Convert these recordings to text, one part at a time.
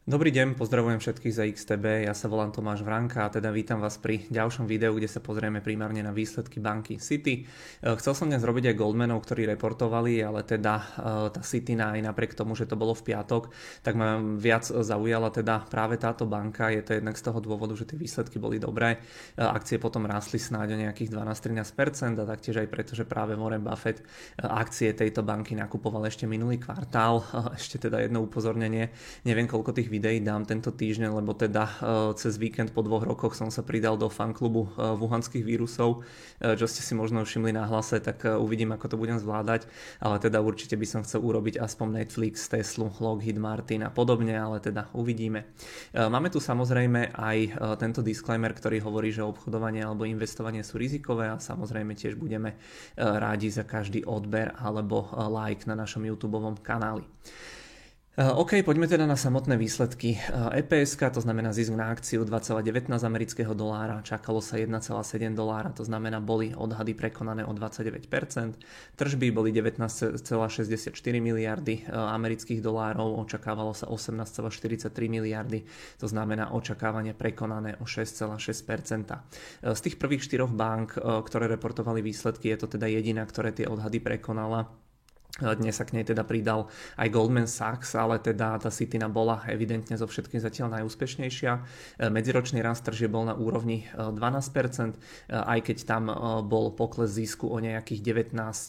Dobrý deň, pozdravujem všetkých za XTB, ja sa volám Tomáš Vranka a teda vítam vás pri ďalšom videu, kde sa pozrieme primárne na výsledky banky Citi. Chcel som dnes robiť aj Goldmanov, ktorí reportovali, ale teda tá Citi aj napriek tomu, že to bolo v piatok, tak ma viac zaujala teda práve táto banka. Je to jednak z toho dôvodu, že tie výsledky boli dobré. Akcie potom rástli snáď o nejakých 12-13% a taktiež aj preto, že práve Warren Buffett akcie tejto banky nakupoval ešte minulý kvartál. Ešte teda jedno upozornenie, neviem koľko tých videí dám tento týždeň, lebo teda cez víkend po 2 rokoch som sa pridal do fanklubu wuhanských vírusov, čo ste si možno všimli na hlase, tak uvidím, ako to budem zvládať, ale teda určite by som chcel urobiť aspoň Netflix, Teslu, Lockheed Martin a podobne, ale teda uvidíme. Máme tu samozrejme aj tento disclaimer, ktorý hovorí, že obchodovanie alebo investovanie sú rizikové a samozrejme tiež budeme rádi za každý odber alebo like na našom YouTubeovom kanáli. OK, poďme teda na samotné výsledky. EPS, to znamená zisk na akciu 2,19 amerického dolára, čakalo sa 1,7 dolára, to znamená boli odhady prekonané o 29%. Tržby boli 19,64 miliardy amerických dolárov, očakávalo sa 18,43 miliardy, to znamená očakávanie prekonané o 6,6%. Z tých prvých 4 bank, ktoré reportovali výsledky, je to teda jediná, ktoré tie odhady prekonala. Dnes sa k nej teda pridal aj Goldman Sachs, ale teda tá Citina bola evidentne zo všetkým zatiaľ najúspešnejšia. Medziročný rast tržieb bol na úrovni 12%, aj keď tam bol pokles zisku o nejakých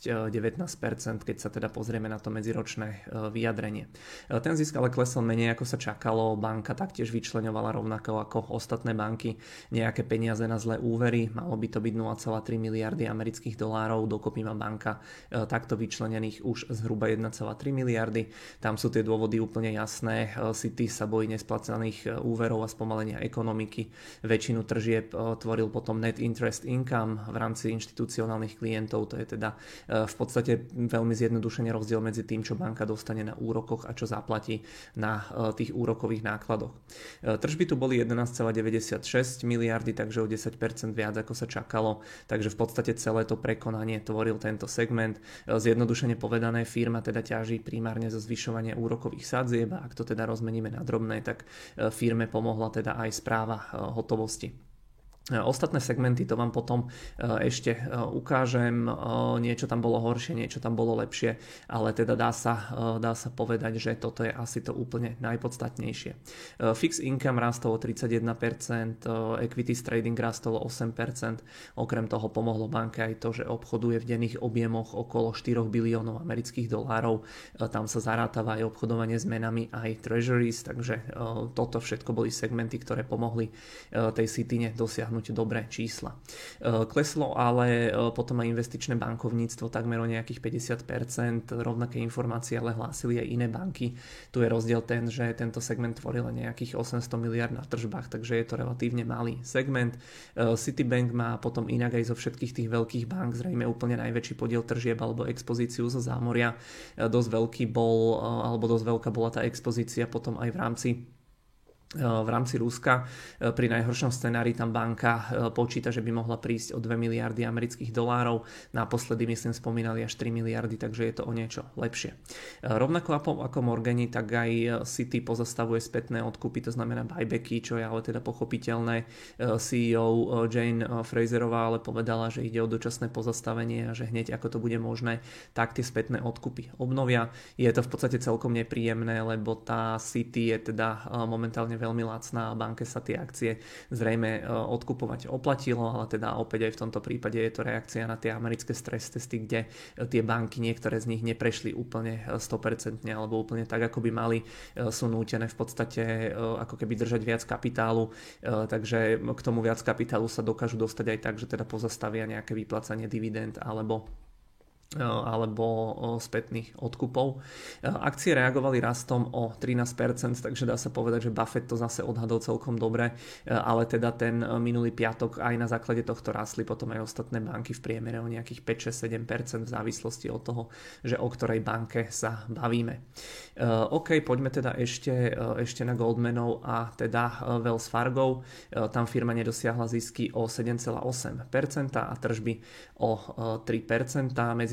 19%, keď sa teda pozrieme na to medziročné vyjadrenie. Ten zisk ale klesol menej ako sa čakalo, banka taktiež vyčleňovala rovnako ako ostatné banky nejaké peniaze na zlé úvery, malo by to byť 0,3 miliardy amerických dolárov, dokopy má banka takto vyčlenených už zhruba 1,3 miliardy. Tam sú tie dôvody úplne jasné. Citi sa bojí nesplacených úverov a spomalenia ekonomiky. Väčšinu tržieb tvoril potom net interest income v rámci inštitucionálnych klientov. To je teda v podstate veľmi zjednodušene rozdiel medzi tým, čo banka dostane na úrokoch a čo zaplatí na tých úrokových nákladoch. Tržby tu boli 11,96 miliardy, takže o 10% viac ako sa čakalo. Takže v podstate celé to prekonanie tvoril tento segment. Zjednodušene povedané, firma teda ťaží primárne zo zvyšovania úrokových sadzieb a ak to teda rozmeníme na drobné, tak firme pomohla teda aj správa hotovosti. Ostatné segmenty to vám potom ešte ukážem, niečo tam bolo horšie, niečo tam bolo lepšie, ale teda dá sa povedať, že toto je asi to úplne najpodstatnejšie. Fixed income rastol o 31%, equities trading rastol o 8%, okrem toho pomohlo banke aj to, že obchoduje v denných objemoch okolo 4 biliónov amerických dolárov, tam sa zarátava aj obchodovanie s menami aj treasuries, takže toto všetko boli segmenty, ktoré pomohli tej Citine dosiahnuť dobré čísla. Kleslo ale potom aj investičné bankovníctvo takmer o nejakých 50%, rovnaké informácie ale hlásili aj iné banky. Tu je rozdiel ten, že tento segment tvoril nejakých 800 miliard na tržbách, takže je to relatívne malý segment. Citibank má potom inak aj zo všetkých tých veľkých bank zrejme úplne najväčší podiel tržieb alebo expozíciu zo zámoria. Dosť veľká bola tá expozícia potom aj v rámci Ruska. Pri najhoršom scenári tam banka počíta, že by mohla prísť o 2 miliardy amerických dolárov. Naposledy myslím spomínali až 3 miliardy, takže je to o niečo lepšie. Rovnako ako Morgani, tak aj Citi pozastavuje spätné odkupy, to znamená buybacky, čo je ale teda pochopiteľné. CEO Jane Fraserová ale povedala, že ide o dočasné pozastavenie a že hneď ako to bude možné, tak tie spätné odkupy obnovia. Je to v podstate celkom nepríjemné, lebo tá Citi je teda momentálne veľmi lacná a banke sa tie akcie zrejme odkupovať oplatilo, ale teda opäť aj v tomto prípade je to reakcia na tie americké stres testy, kde tie banky, niektoré z nich neprešli úplne 100% alebo úplne tak, ako by mali, sú nútené v podstate ako keby držať viac kapitálu, takže k tomu viac kapitálu sa dokážu dostať aj tak, že teda pozastavia nejaké vyplácanie dividend alebo spätných odkupov. Akcie reagovali rastom o 13%, takže dá sa povedať, že Buffett to zase odhadol celkom dobre, ale teda ten minulý piatok aj na základe tohto rastli potom aj ostatné banky v priemere o nejakých 5, 6, 7% v závislosti od toho, že o ktorej banke sa bavíme. OK, poďme teda ešte na Goldmanov a teda Wells Fargo. Tam firma nedosiahla zisky o 7,8% a tržby o 3%. Medzi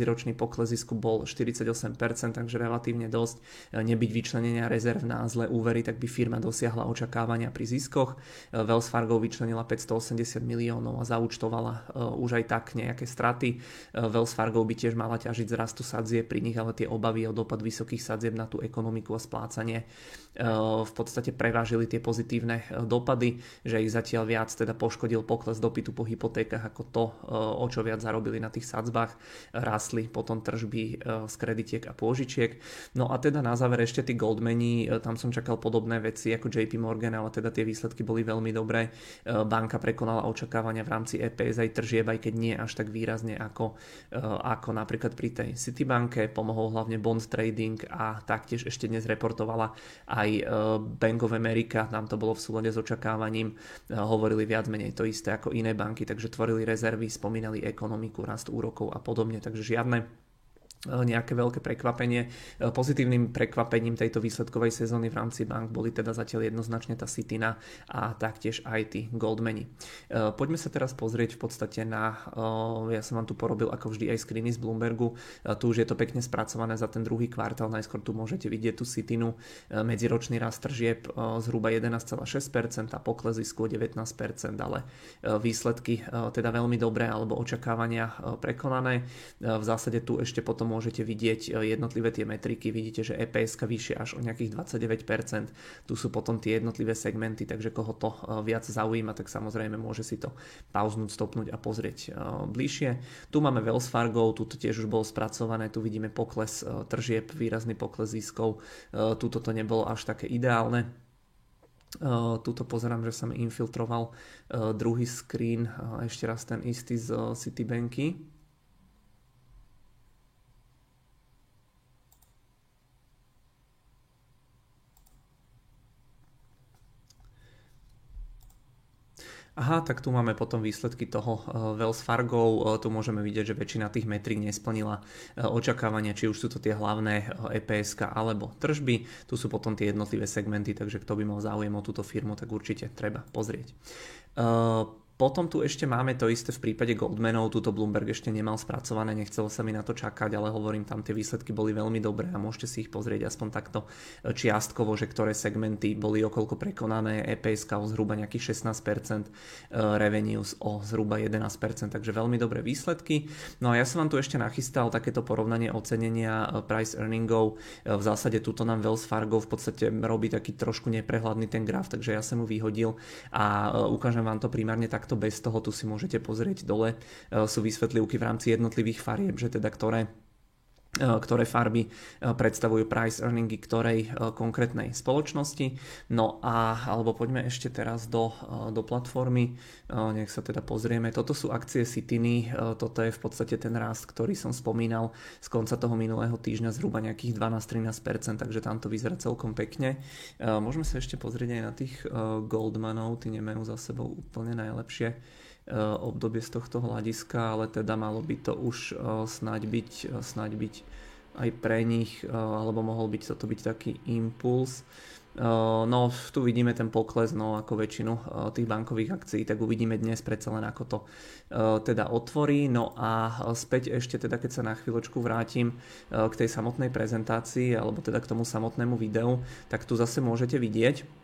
medziročný pokles zisku bol 48%, takže relatívne dosť. Nebyť vyčlenenia rezerv na zlé úvery, tak by firma dosiahla očakávania pri ziskoch. Wells Fargo vyčlenila 580 miliónov a zaúčtovala už aj tak nejaké straty. Wells Fargo by tiež mala ťažiť z rastu sadzieb pri nich, ale tie obavy o dopad vysokých sadzieb na tú ekonomiku a splácanie v podstate prevážili tie pozitívne dopady, že ich zatiaľ viac teda poškodil pokles dopytu po hypotékach ako to, o čo viac zarobili na tých sadzbách. Rástli potom tržby z kreditiek a pôžičiek. No a teda na záver ešte tí Goldmani, tam som čakal podobné veci ako JP Morgan, ale teda tie výsledky boli veľmi dobré. Banka prekonala očakávania v rámci EPS aj tržieb, aj keď nie až tak výrazne ako napríklad pri tej Citibanke. Pomohol hlavne bond trading a taktiež ešte dnes reportovala aj Bank of America, tam to bolo v súlade s očakávaním, hovorili viac menej to isté ako iné banky, takže tvorili rezervy, spomínali ekonomiku, rast úrokov a podobne, takže žiadne nejaké veľké prekvapenie. Pozitívnym prekvapením tejto výsledkovej sezóny v rámci bank boli teda zatiaľ jednoznačne tá Citina a taktiež aj tí Goldmani. Poďme sa teraz pozrieť v podstate ja som vám tu porobil ako vždy aj screeny z Bloombergu, tu už je to pekne spracované za ten druhý kvartál, najskôr tu môžete vidieť tú Citinu, medziročný rast tržieb zhruba 11,6% a pokles zisku 19%, ale výsledky teda veľmi dobré alebo očakávania prekonané. V zásade tu ešte potom môžete vidieť jednotlivé tie metriky, vidíte, že EPS vyššie až o nejakých 29%, tu sú potom tie jednotlivé segmenty, takže koho to viac zaujíma, tak samozrejme môže si to pauznúť, stopnúť a pozrieť bližšie. Tu máme Wells Fargo, tu tiež už bolo spracované, tu vidíme pokles tržieb, výrazný pokles ziskov, tuto to nebolo až také ideálne. Tuto pozerám, že sa mi infiltroval druhý screen, ešte raz ten istý z Citibanky. Aha, tak tu máme potom výsledky toho Wells Fargo. Tu môžeme vidieť, že väčšina tých metrík nesplnila očakávania, či už sú to tie hlavné EPS alebo tržby. Tu sú potom tie jednotlivé segmenty, takže kto by mal záujem o túto firmu, tak určite treba pozrieť. Potom tu ešte máme to isté v prípade Goldmanov, túto Bloomberg ešte nemal spracované, nechcelo sa mi na to čakať, ale hovorím, tam tie výsledky boli veľmi dobré a môžete si ich pozrieť aspoň takto čiastkovo, že ktoré segmenty boli okolko prekonané, EPS o zhruba nejakých 16%, revenues o zhruba 11%, takže veľmi dobré výsledky. No a ja som vám tu ešte nachystal takéto porovnanie ocenenia price earningov, v zásade túto nám Wells Fargo v podstate robí taký trošku neprehľadný ten graf, takže ja som mu vyhodil a ukážem vám to primárne takto bez toho, tu si môžete pozrieť dole, sú vysvetlivky v rámci jednotlivých farieb, že teda ktoré farby predstavujú price earningy ktorej konkrétnej spoločnosti. No alebo poďme ešte teraz do platformy, nech sa teda pozrieme. Toto sú akcie Citiny, toto je v podstate ten rast, ktorý som spomínal z konca toho minulého týždňa, zhruba nejakých 12-13%, takže tam to vyzerá celkom pekne. Môžeme sa ešte pozrieť aj na tých Goldmanov, tí nemajú za sebou úplne najlepšie obdobie z tohto hľadiska, ale teda malo by to už snáď byť aj pre nich, alebo mohol byť toto byť taký impuls. No tu vidíme ten pokles, no ako väčšinu tých bankových akcií, tak uvidíme dnes predsa len ako to teda otvorí. No a späť ešte teda, keď sa na chvíľočku vrátim k tej samotnej prezentácii, alebo teda k tomu samotnému videu, tak tu zase môžete vidieť,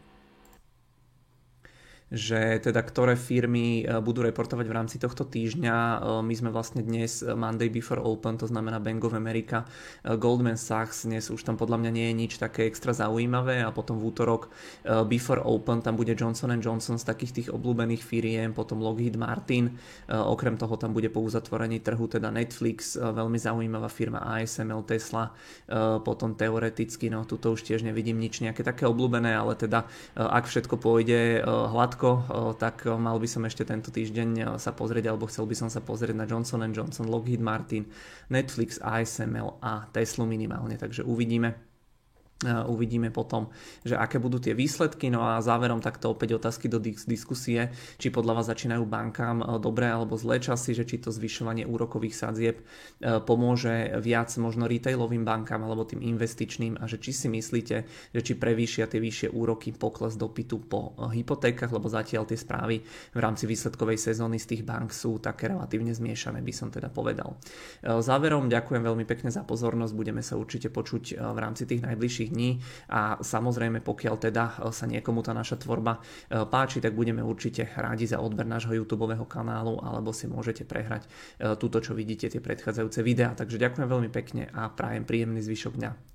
že teda ktoré firmy budú reportovať v rámci tohto týždňa. My sme vlastne dnes Monday before open, to znamená Bank of America, Goldman Sachs, dnes už tam podľa mňa nie je nič také extra zaujímavé a potom v útorok before open tam bude Johnson & Johnson z takých tých obľúbených firiem, potom Lockheed Martin, okrem toho tam bude po uzatvorení trhu teda Netflix, veľmi zaujímavá firma ASML, Tesla, potom teoreticky, no tuto už tiež nevidím nič nejaké také obľúbené, ale teda ak všetko pôjde hladko, tak mal by som ešte tento týždeň sa pozrieť, alebo chcel by som sa pozrieť na Johnson & Johnson, Lockheed Martin, Netflix, ASML a Teslu minimálne, takže uvidíme. Uvidíme potom, že aké budú tie výsledky. No a záverom takto opäť otázky do diskusie, či podľa vás začínajú bankám dobré alebo zlé časy, že či to zvyšovanie úrokových sadzieb pomôže viac možno retailovým bankám alebo tým investičným, a že či si myslíte, že či prevýšia tie vyššie úroky pokles dopytu po hypotékach, lebo zatiaľ tie správy v rámci výsledkovej sezóny z tých bank sú také relatívne zmiešané, by som teda povedal. Záverom ďakujem veľmi pekne za pozornosť, budeme sa určite počuť v rámci tých najbližších dní a samozrejme pokiaľ teda sa niekomu tá naša tvorba páči, tak budeme určite rádi za odber nášho YouTubeového kanálu, alebo si môžete prehrať túto, čo vidíte, tie predchádzajúce videá. Takže ďakujem veľmi pekne a prajem príjemný zvyšok dňa.